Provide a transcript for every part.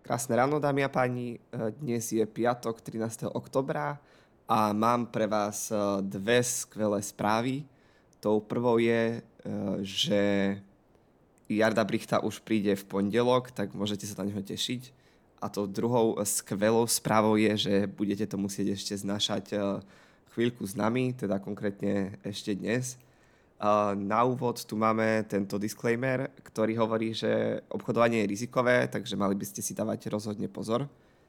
Krásne ráno, dámy a páni. Dnes je piatok 13. oktobra a mám pre vás dve skvelé správy. Tou prvou je, že Jarda Brichta už príde v pondelok, tak môžete sa na neho tešiť. A tou druhou skvelou správou je, že budete to musieť ešte znášať chvíľku s nami, teda konkrétne ešte dnes. Na úvod tu máme tento disclaimer, ktorý hovorí, že obchodovanie je rizikové, takže mali by ste si dávať rozhodne pozor.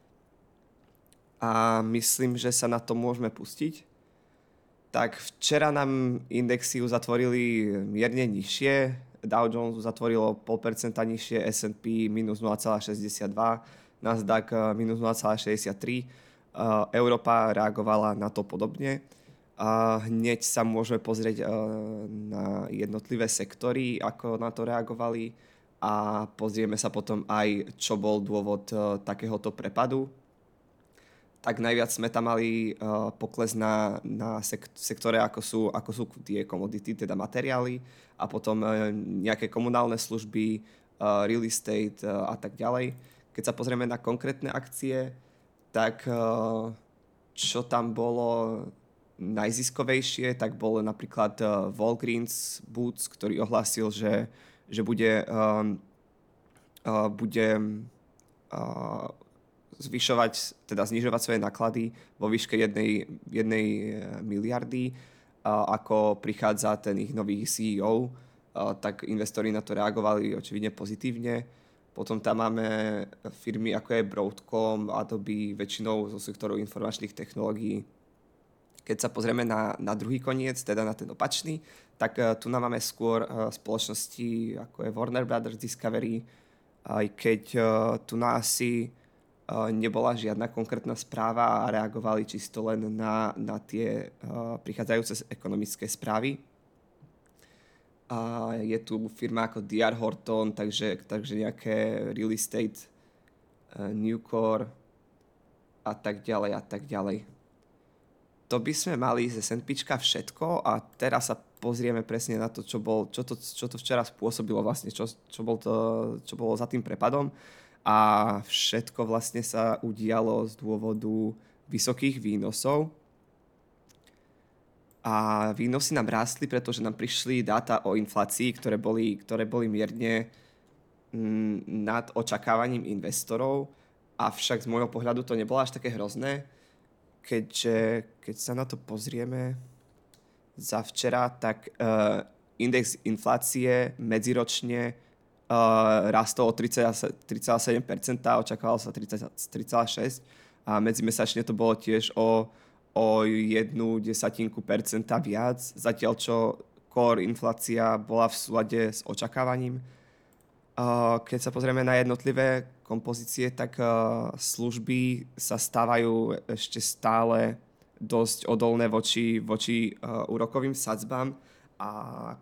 A myslím, že sa na to môžeme pustiť. Tak včera nám indexy uzatvorili mierne nižšie. Dow Jones uzatvorilo 0,5% nižšie, S&P minus 0,62, Nasdaq minus 0,63. Európa reagovala na to podobne. Hneď sa môžeme pozrieť na jednotlivé sektory, ako na to reagovali a pozrieme sa potom aj, čo bol dôvod takéhoto prepadu. Tak najviac sme tam mali pokles na sektore, ako sú tie komodity, teda materiály a potom nejaké komunálne služby, real estate a tak ďalej. Keď sa pozrieme na konkrétne akcie, tak čo tam bolo najziskovejšie, tak bol napríklad Walgreens Boots, ktorý ohlásil, že bude znižovať svoje náklady vo výške 1 miliardy, ako prichádza ten ich nový CEO, tak investori na to reagovali očividne pozitívne. Potom tam máme firmy ako je Broadcom, Adobe, väčšinou zo sektoru informačných technológií. Keď sa pozrieme na druhý koniec, teda na ten opačný, tak tu máme skôr spoločnosti ako je Warner Brothers Discovery, aj keď tu asi nebola žiadna konkrétna správa a reagovali čisto len na tie prichádzajúce ekonomické správy. A je tu firma ako D.R. Horton, takže nejaké real estate, Newcore a tak ďalej a tak ďalej. To by sme mali z S&Pčka všetko a teraz sa pozrieme presne na to, čo to včera spôsobilo vlastne, čo bolo za tým prepadom. A všetko vlastne sa udialo z dôvodu vysokých výnosov. A výnosy nám rástli, pretože nám prišli dáta o inflácii, ktoré boli mierne nad očakávaním investorov. Avšak z môjho pohľadu to nebolo až také hrozné, keď sa na to pozrieme za včera, tak index inflácie medziročne rastol o 3,7%, očakávalo sa 3,6% a medzimesačne to bolo tiež o 0,1% viac, zatiaľ čo core inflácia bola v súlade s očakávaním. Keď sa pozrieme na jednotlivé kompozície, tak služby sa stávajú ešte stále dosť odolné voči úrokovým sadzbám a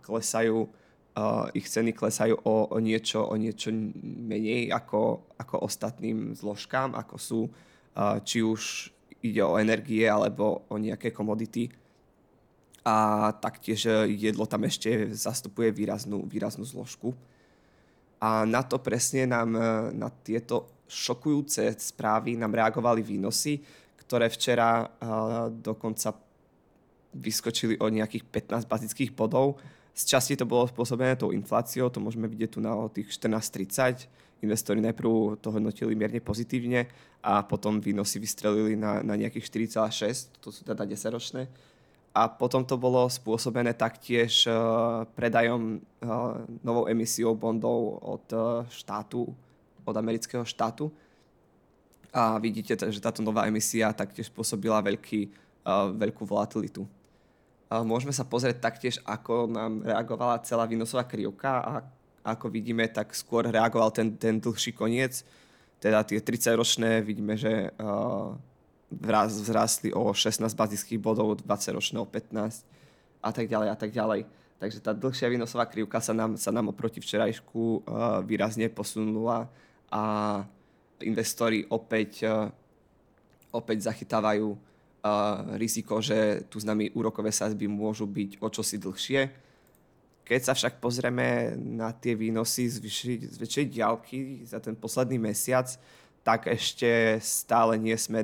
ich ceny klesajú o niečo menej ako ostatným zložkám, ako sú či už ide o energie alebo o nejaké komodity. A taktiež jedlo tam ešte zastupuje výraznú zložku. A na to presne na tieto šokujúce správy nám reagovali výnosy, ktoré včera dokonca vyskočili o nejakých 15 bazických bodov. Z časti to bolo spôsobené tou infláciou, to môžeme vidieť tu na tých 14,30. Investori najprv to hodnotili mierne pozitívne a potom výnosy vystrelili na nejakých 4,6, to sú teda 10-ročné. A potom to bolo spôsobené taktiež predajom novou emisiou bondov od amerického štátu. A vidíte, že táto nová emisia taktiež spôsobila veľkú volatilitu. Môžeme sa pozrieť taktiež, ako nám reagovala celá výnosová krivka a ako vidíme, tak skôr reagoval ten dlhší koniec. Teda tie 30-ročné vidíme, že vzrástli o 16 bazických bodov, 20-ročné o 15 a tak ďalej. Takže tá dlhšia výnosová krivka sa nám oproti včerajšku výrazne posunula a investori opäť zachytávajú riziko, že tu s nami úrokové sadzby môžu byť o čosi dlhšie. Keď sa však pozrieme na tie výnosy z väčšej diaľky za ten posledný mesiac, tak ešte stále nie sme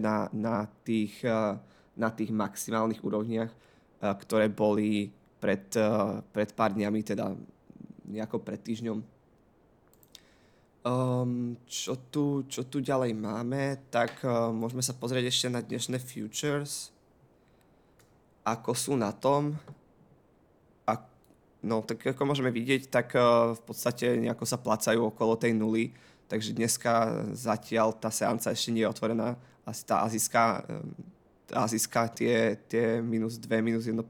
na tých maximálnych úrovniach, ktoré boli pred pár dňami, teda nejako pred týždňom. Čo tu ďalej máme, tak môžeme sa pozrieť ešte na dnešné futures, ako sú na tom. No, tak ako môžeme vidieť, tak v podstate nejako sa placajú okolo tej nuly, takže dneska zatiaľ tá seanca ešte nie je otvorená. Asi tá azijská tie minus 2, minus 1%,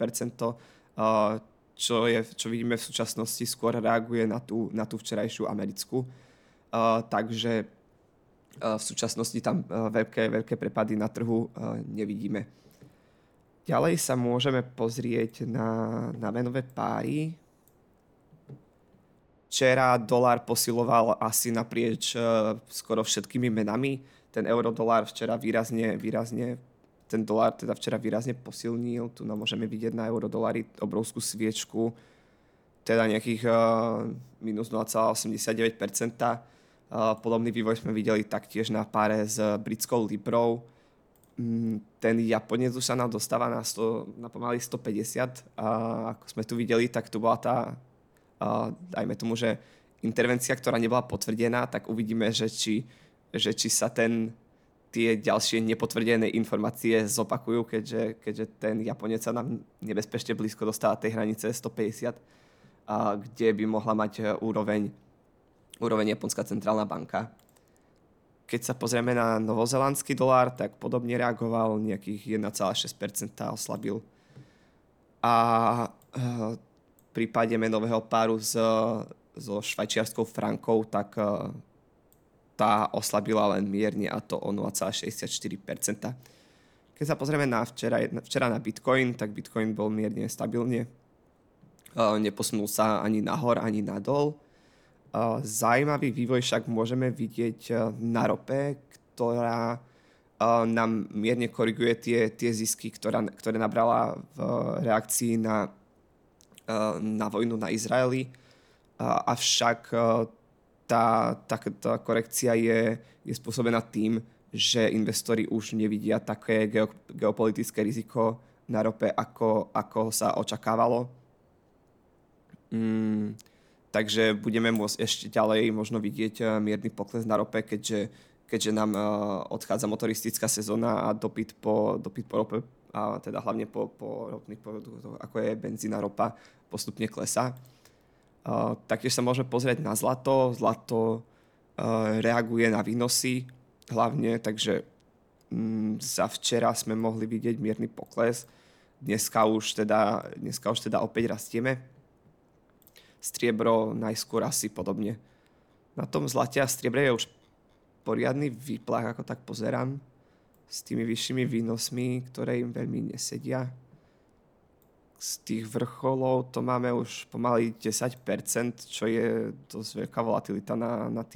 čo vidíme v súčasnosti, skôr reaguje na tú včerajšiu americkú. Takže v súčasnosti tam veľké prepady na trhu nevidíme. Ďalej sa môžeme pozrieť na menové páry. Včera dolár posiloval asi naprieč skoro všetkými menami. Ten eurodolár včera výrazne ten dolár teda včera výrazne posilnil. Tu nám môžeme vidieť na eurodolári obrovskú sviečku, teda nejakých minus 0,89%. Podobný vývoj sme videli taktiež na páre s britskou librou. Ten Japonec už sa nám dostáva na pomaly 150. A ako sme tu videli, tak tu bola tá, dajme tomu, že intervencia, ktorá nebola potvrdená, tak uvidíme, že či sa tie ďalšie nepotvrdené informácie zopakujú, keďže ten Japonec sa nám nebezpečne blízko dostáva tej hranice 150, kde by mohla mať úroveň Japonská centrálna banka. Keď sa pozrieme na novozélandský dolár, tak podobne reagoval, nejakých 1,6% oslabil. A v prípade menového páru so švajčiarskou frankou, tak tá oslabila len mierne, a to o 0,64%. Keď sa pozrieme na včera na Bitcoin, tak Bitcoin bol mierne stabilne. Neposunul sa ani nahor, ani nadol. Zajímavý vývoj však môžeme vidieť na rope, ktorá nám mierne koriguje tie zisky, ktoré nabrala v reakcii na vojnu na Izraeli. Avšak tá korekcia je spôsobená tým, že investori už nevidia také geopolitické riziko na rope, ako sa očakávalo. Takže budeme môcť ešte ďalej možno vidieť mierny pokles na rope, keďže nám odchádza motoristická sezóna a dopyt po rope, a teda hlavne po ropných produktoch, ako je benzín a ropa, postupne klesá. Taktiež sa môžeme pozrieť na zlato. Zlato reaguje na výnosy hlavne, takže za včera sme mohli vidieť mierny pokles. Dneska už teda opäť rastieme. Striebro najskôr asi podobne. Na tom zlate a striebre je už poriadny výplach, ako tak pozerám, s tými vyššími výnosmi, ktoré im veľmi nesedia. Z tých vrcholov to máme už pomaly 10%, čo je dosť veľká volatilita na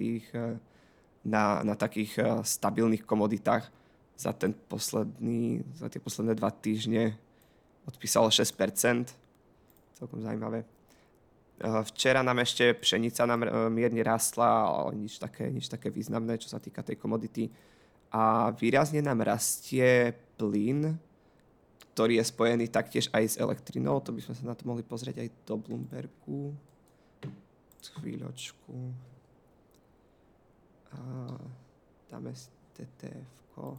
takých stabilných komoditách. Za tie posledné 2 týždne odpísalo 6%. Celkom zaujímavé. Včera nám ešte pšenica mierne rástla, ale nič také významné, čo sa týka tej komodity. A výrazne nám rastie plyn, ktorý je spojený taktiež aj s elektrinou. To by sme sa na to mohli pozrieť aj do Bloombergu. Chvíľočku. Dáme si TTF-ko.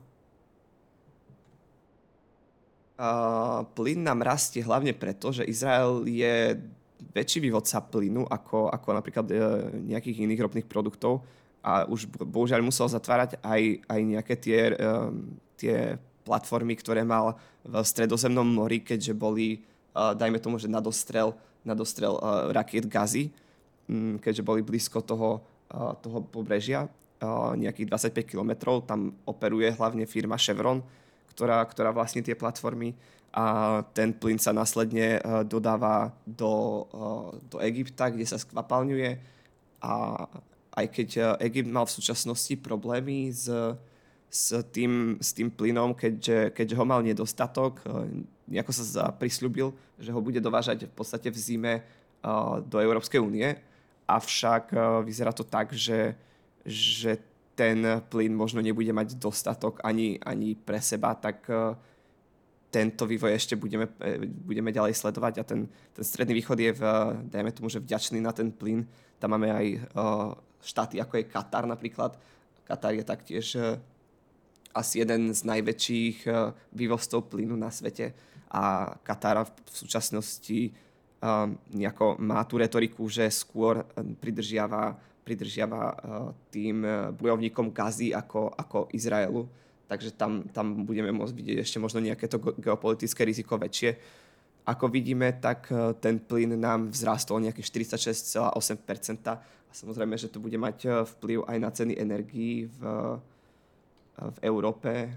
Plyn nám rastie hlavne preto, že Izrael je väčší vývodca plynu ako napríklad nejakých iných ropných produktov a už bohužiaľ musel zatvárať aj nejaké tie platformy, ktoré mal v Stredozemnom mori, keďže boli, dajme tomu, že nadostrel rakiet Gazy, keďže boli blízko toho pobrežia, nejakých 25 kilometrov. Tam operuje hlavne firma Chevron, ktorá vlastní tie platformy, a ten plyn sa následne dodáva do Egypta, kde sa skvapalňuje, a aj keď Egypt mal v súčasnosti problémy s tým plynom, keďže ho mal nedostatok, nejako sa prisľúbil, že ho bude dovážať v podstate v zime do Európskej únie, avšak vyzerá to tak, že ten plyn možno nebude mať dostatok ani pre seba, tak tento vývoj ešte budeme ďalej sledovať a ten Stredný východ je, dajme tomu, že vďačný na ten plyn. Tam máme aj štáty, ako je Katar napríklad. Katar je taktiež asi jeden z najväčších vývozcov plynu na svete a Katar v súčasnosti nejako má tú retoriku, že skôr pridržiava tým bojovníkom Gazy ako Izraelu. Takže tam budeme môcť vidieť ešte možno nejaké to geopolitické riziko väčšie. Ako vidíme, tak ten plyn nám vzrástol nejakých 46,8%. A samozrejme, že to bude mať vplyv aj na ceny energií v Európe.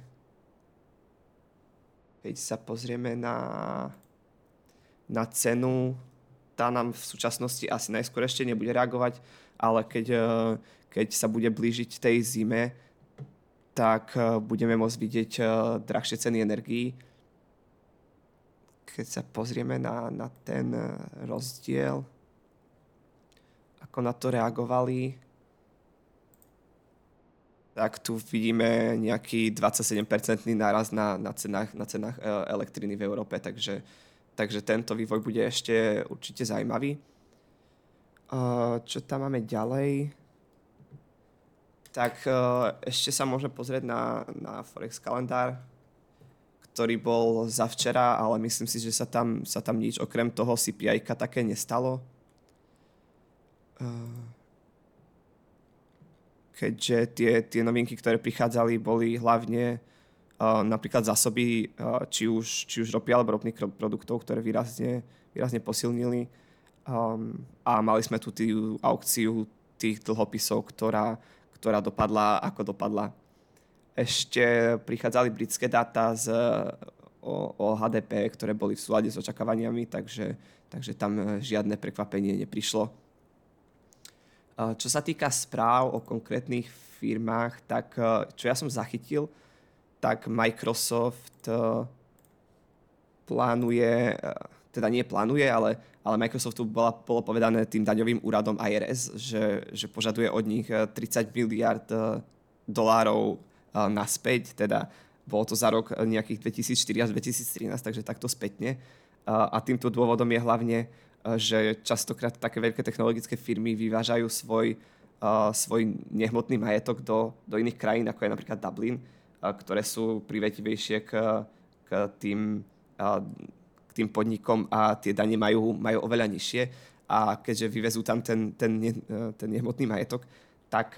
Keď sa pozrieme na cenu, tá nám v súčasnosti asi najskôr ešte nebude reagovať, ale keď sa bude blížiť tej zime, tak budeme môcť vidieť drahšie ceny energií. Keď sa pozrieme na ten rozdiel, ako na to reagovali, tak tu vidíme nejaký 27% náraz na cenách elektriny v Európe, takže tento vývoj bude ešte určite zaujímavý. Čo tam máme ďalej? Tak ešte sa môžeme pozrieť na Forex kalendár, ktorý bol za včera, ale myslím si, že sa tam nič okrem toho CPI-ka také nestalo. Keďže tie novinky, ktoré prichádzali, boli hlavne napríklad zásoby či už ropy alebo ropných produktov, ktoré výrazne posilnili. A mali sme tu tú aukciu tých dlhopisov, ktorá dopadla ako dopadla. Ešte prichádzali britské dáta o HDP, ktoré boli v súlade s očakávaniami, takže tam žiadne prekvapenie neprišlo. Čo sa týka správ o konkrétnych firmách, tak čo ja som zachytil, tak Microsoft plánuje, teda nie plánuje, ale Microsoftu bolo povedané tým daňovým úradom IRS, že požaduje od nich 30 miliard dolárov naspäť, teda bolo to za rok nejakých 2004 až 2013, takže takto spätne. A týmto dôvodom je hlavne, že častokrát také veľké technologické firmy vyvážajú svoj nehmotný majetok do iných krajín, ako je napríklad Dublin, ktoré sú privetivejšie k tým podnikom a tie dane majú oveľa nižšie. A keďže vyvezú tam ten nehmotný majetok, tak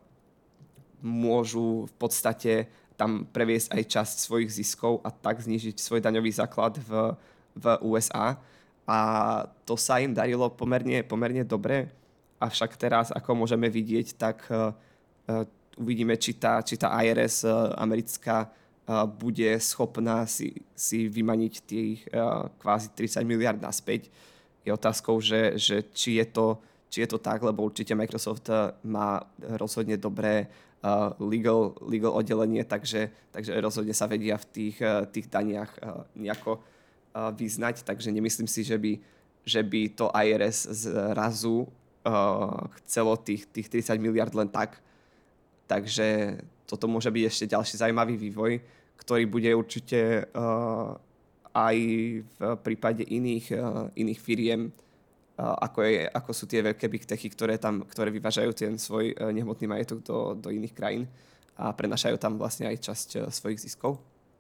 môžu v podstate tam previesť aj časť svojich ziskov a tak znížiť svoj daňový základ v USA. A to sa im darilo pomerne dobre. Avšak teraz, ako môžeme vidieť, tak uvidíme, či tá IRS americká bude schopná si vymaniť tých kvázi 30 miliard naspäť. Je otázkou, že či je to tak, lebo určite Microsoft má rozhodne dobré legal oddelenie, takže rozhodne sa vedia v tých daniach nejako vyznať, takže nemyslím si, že by to IRS zrazu chcelo tých 30 miliard len tak. Takže toto môže byť ešte ďalší zaujímavý vývoj, ktorý bude určite aj v prípade iných firiem, ako sú tie veľké big techy, ktoré vyvážajú ten svoj nehmotný majetok do iných krajín a prenašajú tam vlastne aj časť svojich ziskov.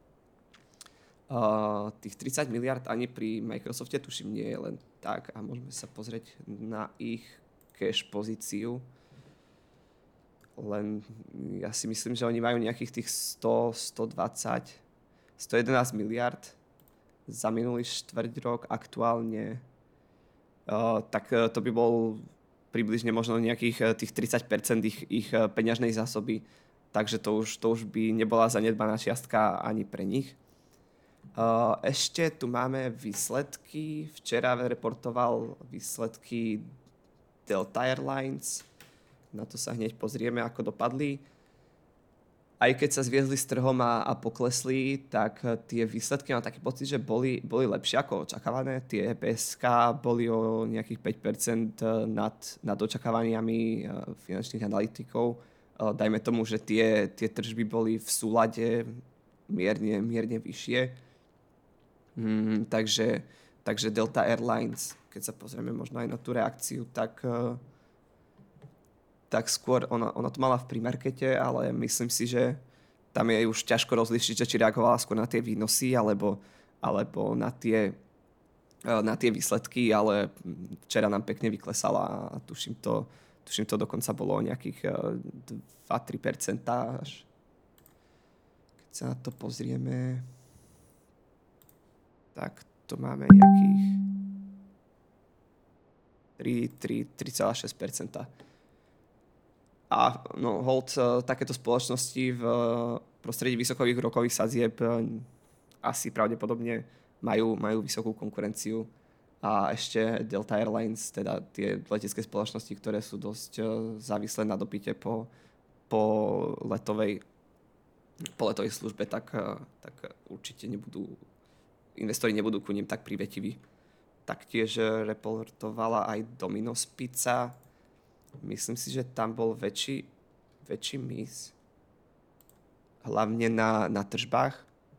Tých 30 miliard ani pri Microsofte tuším nie je len tak a môžeme sa pozrieť na ich cash pozíciu. Len ja si myslím, že oni majú nejakých tých 100, 120, 111 miliard za minulý štvrť rok aktuálne. Tak to by bol približne možno nejakých tých 30% ich peňažnej zásoby, takže to už by nebola zanedbaná čiastka ani pre nich. Ešte tu máme výsledky. Včera reportoval výsledky Delta Airlines. Na to sa hneď pozrieme, ako dopadli. Aj keď sa zviezli s trhom a poklesli, tak tie výsledky, mám taký pocit, že boli lepšie ako očakávané. Tie PSK boli o nejakých 5% nad očakávaniami finančných analytikov. dajme tomu, že tie tržby boli v súlade mierne vyššie. Takže Delta Airlines, keď sa pozrieme možno aj na tú reakciu, tak skôr ona to mala v premarkete, ale myslím si, že tam je už ťažko rozlišiť, že či reagovala skôr na tie výnosy alebo na tie výsledky, ale včera nám pekne vyklesala a tuším to dokonca bolo nejakých 2-3% až. Keď sa na to pozrieme, tak to máme nejakých 3,6%. A no, hold, takéto spoločnosti v prostredí vysokových úrokových sadzieb asi pravdepodobne majú vysokú konkurenciu. A ešte Delta Airlines, teda tie letecké spoločnosti, ktoré sú dosť závislé na dopyte po letovej službe, tak určite investori nebudú ku nim tak privetiví. Taktiež reportovala aj Domino's Pizza. Myslím si, že tam bol väčší miss. Hlavne na tržbách.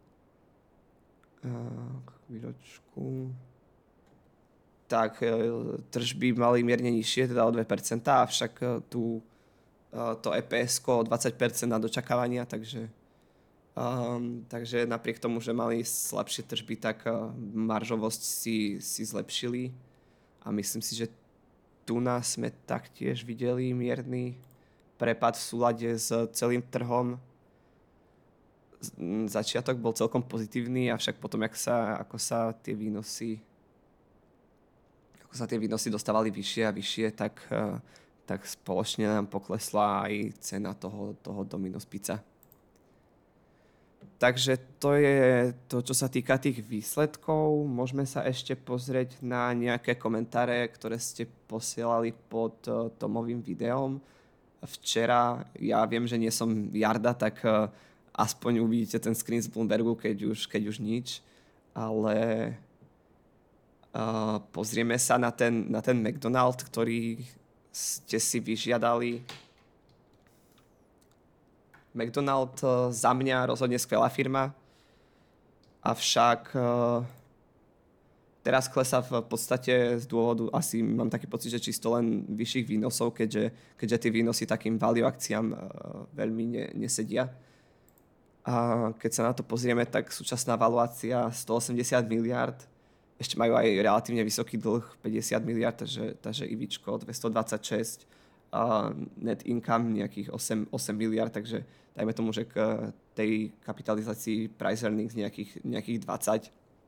Chvíľočku. Tak tržby mali mierne nižšie, teda o 2%, avšak to EPS-ko o 20% na dočakávania, takže napriek tomu, že mali slabšie tržby, tak maržovosť si zlepšili a myslím si, že tu nás sme taktiež videli mierny prepad v súlade s celým trhom. Začiatok bol celkom pozitívny, avšak potom, ako sa tie výnosy dostávali vyššie a vyššie, tak spoločne nám poklesla aj cena toho Domino's Pizza. Takže to je to, čo sa týka tých výsledkov. Môžeme sa ešte pozrieť na nejaké komentáre, ktoré ste posielali pod Tomovým videom. Včera, ja viem, že nie som Jarda, tak aspoň uvidíte ten screen z Bloombergu, keď už nič. Ale pozrieme sa na ten McDonald's, ktorý ste si vyžiadali. McDonald's za mňa rozhodne skvelá firma, avšak teraz klesá v podstate z dôvodu, asi mám taký pocit, že čisto len vyšších výnosov, keďže tie výnosy takým value akciám veľmi nesedia. A keď sa na to pozrieme, tak súčasná valuácia 180 miliard, ešte majú aj relatívne vysoký dlh 50 miliard, takže IVčko 226, net income nejakých 8 miliard, takže dajme tomu, že k tej kapitalizácii price earnings nejakých 20,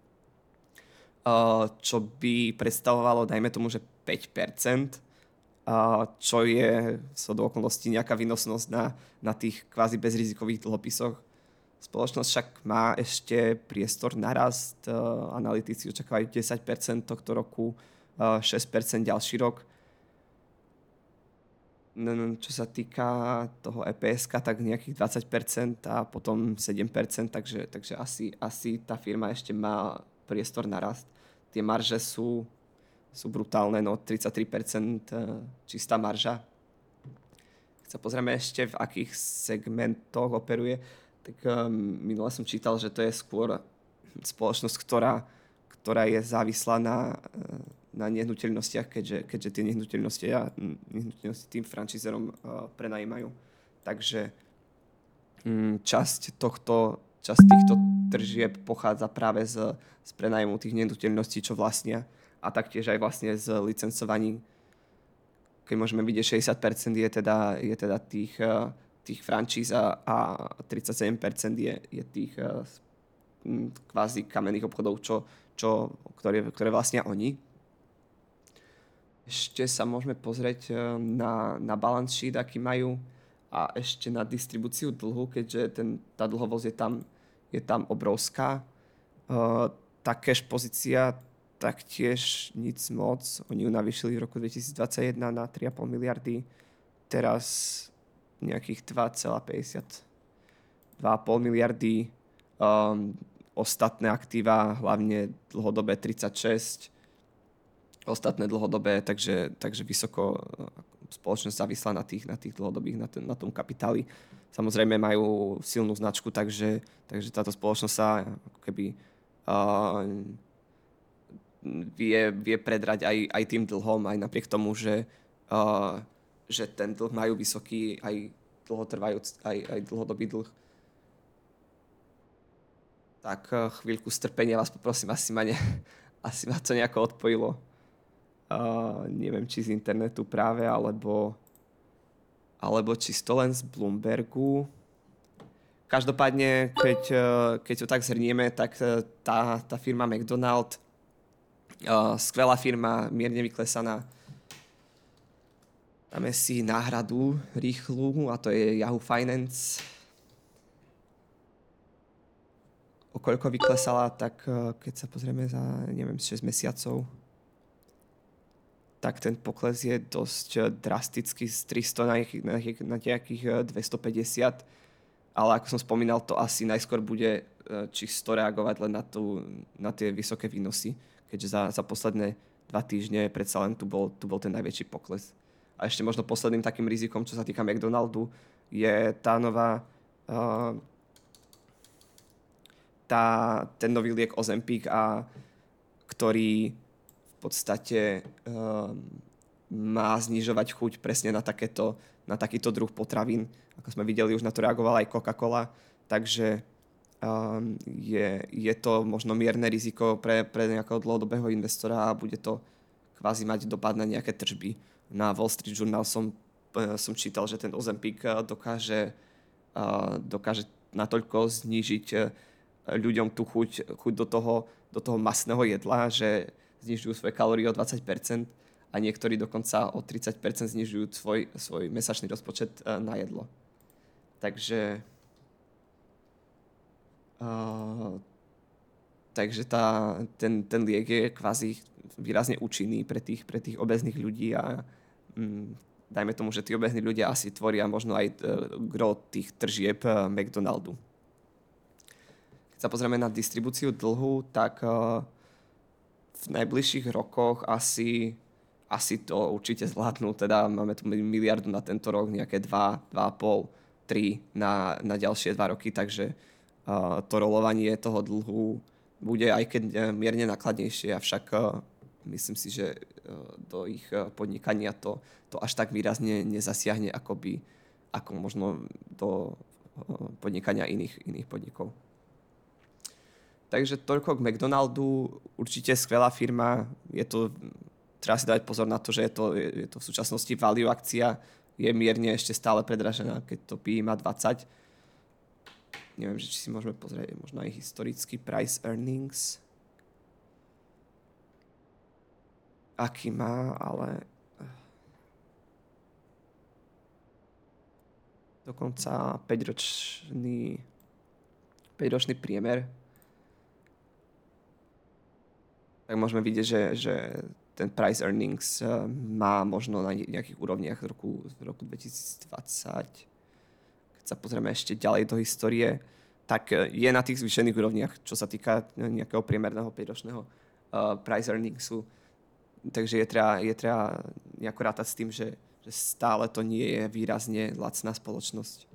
čo by predstavovalo, dajme tomu, že 5%, čo je do okolností nejaká výnosnosť na tých kvázi bezrizikových dlhopisoch. Spoločnosť však má ešte priestor na rast, analytici očakávajú 10% tohto roku, 6% ďalší rok. Čo sa týka toho EPS-ka, tak nejakých 20% a potom 7%, takže asi tá firma ešte má priestor na rast. Tie marže sú brutálne, 33% čistá marža. Keď sa pozrieme ešte, v akých segmentoch operuje, tak minule som čítal, že to je skôr spoločnosť, ktorá je závislá na nehnuteľnostiach, keďže tie nehnuteľnosti tým franchiserom prenajímajú. Takže časť týchto tržieb pochádza práve z prenájmu tých nehnuteľností, čo vlastnia, a taktiež aj vlastne z licencovaní. Keď môžeme vidieť, 60% je teda tých franchíz a 37% je tých kvázi kamenných obchodov, ktoré vlastnia oni. Ešte sa môžeme pozrieť na balance sheet, aký majú, a ešte na distribúciu dlhu, keďže tá dlhovosť je tam obrovská. Tá cash pozícia taktiež nic moc. Oni ju navýšili v roku 2021 na 3,5 miliardy. Teraz nejakých 2,5 miliardy. Ostatné aktíva, hlavne dlhodobé 36, ostatné dlhodobé, takže vysoko spoločnosť závislá na tých dlhodobých, na tom kapitáli. Samozrejme majú silnú značku, takže táto spoločnosť sa ako keby vie predrať aj tým dlhom, aj napriek tomu, že ten dlh majú vysoký, aj dlhotrvajúc, aj dlhodobý dlh. Tak chvíľku strpenia vás poprosím, asi ma to nejako odpojilo. Neviem, či z internetu práve, alebo čisto len z Bloombergu. Každopádne, keď to tak zhrnieme, tak tá firma McDonald, skvelá firma, mierne vyklesaná. Dáme si náhradu rýchlu a to je Yahoo Finance. O koľko vyklesala, tak keď sa pozrieme za, neviem, 6 mesiacov, tak ten pokles je dosť drastický z 300 na nejakých 250. Ale ako som spomínal, to asi najskôr bude čisto reagovať len na tie vysoké výnosy, keďže za posledné 2 týždne predsa len tu bol ten najväčší pokles. A ešte možno posledným takým rizikom, čo sa týka McDonaldu, je tá nová ten nový liek Ozempic, ktorý v podstate má znižovať chuť presne na takýto druh potravín. Ako sme videli, už na to reagovala aj Coca-Cola, takže je to možno mierne riziko pre nejakého dlhodobého investora a bude to kvázi mať dopad na nejaké tržby. Na Wall Street Journal som čítal, že ten Ozempic dokáže natoľko znížiť ľuďom tú chuť do toho masného jedla, že znižujú svoje kalórie o 20% a niektorí dokonca o 30% znižujú svoj mesačný rozpočet na jedlo. Takže ten liek je kvázi výrazne účinný pre tých obéznych ľudí a dajme tomu, že tí obézní ľudia asi tvoria možno aj gro tých tržieb McDonaldu. Keď sa pozrieme na distribúciu dlhu, tak v najbližších rokoch asi to určite zvládnu. Teda máme tu miliardu na tento rok, nejaké 2,5, 3 na ďalšie 2 roky, takže to rolovanie toho dlhu bude aj keď mierne nákladnejšie, avšak myslím si, že do ich podnikania to až tak výrazne nezasiahne, ako možno do podnikania iných podnikov. Takže toľko k McDonaldu, určite skvelá firma, treba si dať pozor na to, že je to v súčasnosti value akcia, je mierne ešte stále predražená, keď to PE má 20. Neviem, či si môžeme pozrieť možno aj historický price earnings. Aký má, ale dokonca 5-ročný priemer. Tak môžeme vidieť, že ten price earnings má možno na nejakých úrovniach z roku 2020. Keď sa pozrieme ešte ďalej do histórie, tak je na tých zvýšených úrovniach, čo sa týka nejakého priemerného 5-ročného price earningsu. Takže je treba nejako rátať s tým, že stále to nie je výrazne lacná spoločnosť.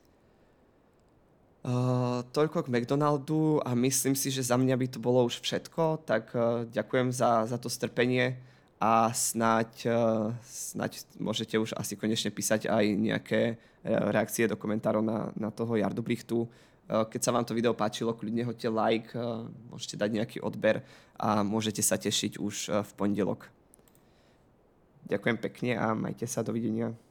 Toľko k McDonaldu a myslím si, že za mňa by to bolo už všetko, tak ďakujem za to strpenie a snáď môžete už asi konečne písať aj nejaké reakcie do komentárov na toho Jardobrichtu. Keď sa vám to video páčilo, kľudne hoďte like, môžete dať nejaký odber a môžete sa tešiť už v pondelok. Ďakujem pekne a majte sa, dovidenia.